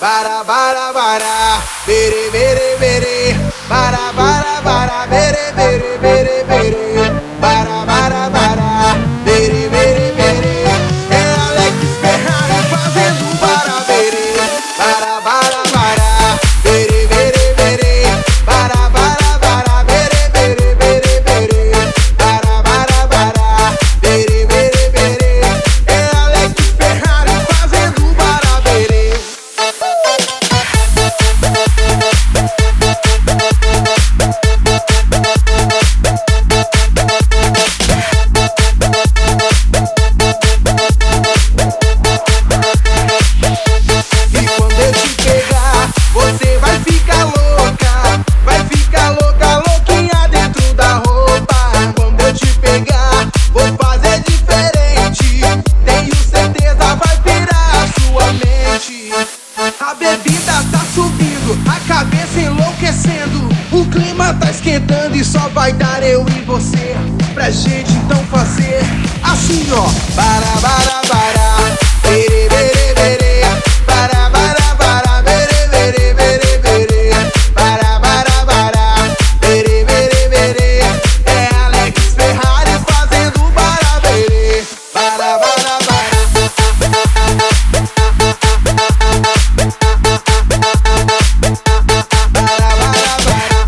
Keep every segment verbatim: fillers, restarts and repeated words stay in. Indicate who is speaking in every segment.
Speaker 1: Bara, bara, bara, bere, bere, bere. Bara, bara, bara, bere, bere, bere, bere. Bara, bara, bara, bere, bere, bere. É Alex Ferrari fazendo bara, bere. Bara, bara, bara, bere, bere, bere. Bara, bara, bara, bere, bere, bere, bere. Bara, bara, bara, bere, bere, bere. É Alex Ferrari fazendo bara, bere. E quando eu te pegar, você vai ficar louca. Vai ficar louca, louquinha dentro da roupa. Quando eu te pegar, vou fazer diferente. Tenho certeza, vai virar a sua mente. A bebida tá subindo, a cabeça enlouquecendo. O clima tá esquentando e só vai dar eu e você. Pra gente então fazer assim, ó. Bara, bara, bara, bere, bere, bere. Bara, bara, bara, bere, bere, bere, bere. Bara, bara, bara, bere, bere, bere. É Alex Ferrari fazendo bara, bere. Bara, bara, bara. Bara, bara, bara.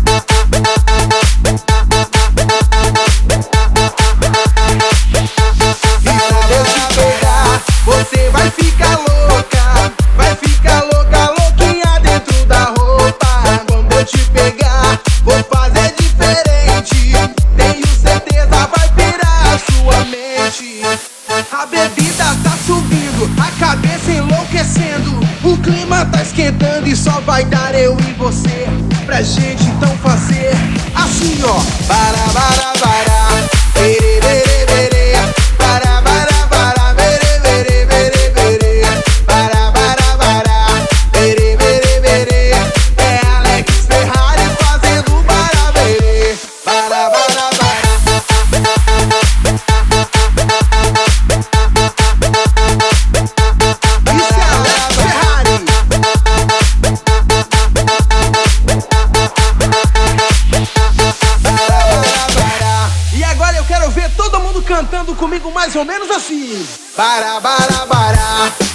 Speaker 1: E quando eu te pegar, você vai ficar louca. Vai ficar louca, louquinha dentro da roupa. Quando eu te pegar, vou fazer diferente. Tenho certeza, vai virar a sua mente. A bebida tá subindo, a cabeça enlouquecendo. O clima tá esquentando e só vai dar eu e você. Pra gente então fazer assim, ó. Bara, bara, bara, bere, bere, bere. Bara, bara, bara, bere, bere, bere, bere. Bara, bara, bara, bere, bere, bere. É Alex Ferrari fazendo bara, bere. Bara, bara, bara. Isso é Alex Ferrari. Bara, bara, bara. E agora eu quero ver todo mundo cantando comigo mais ou menos assim. Bara, bara, bara.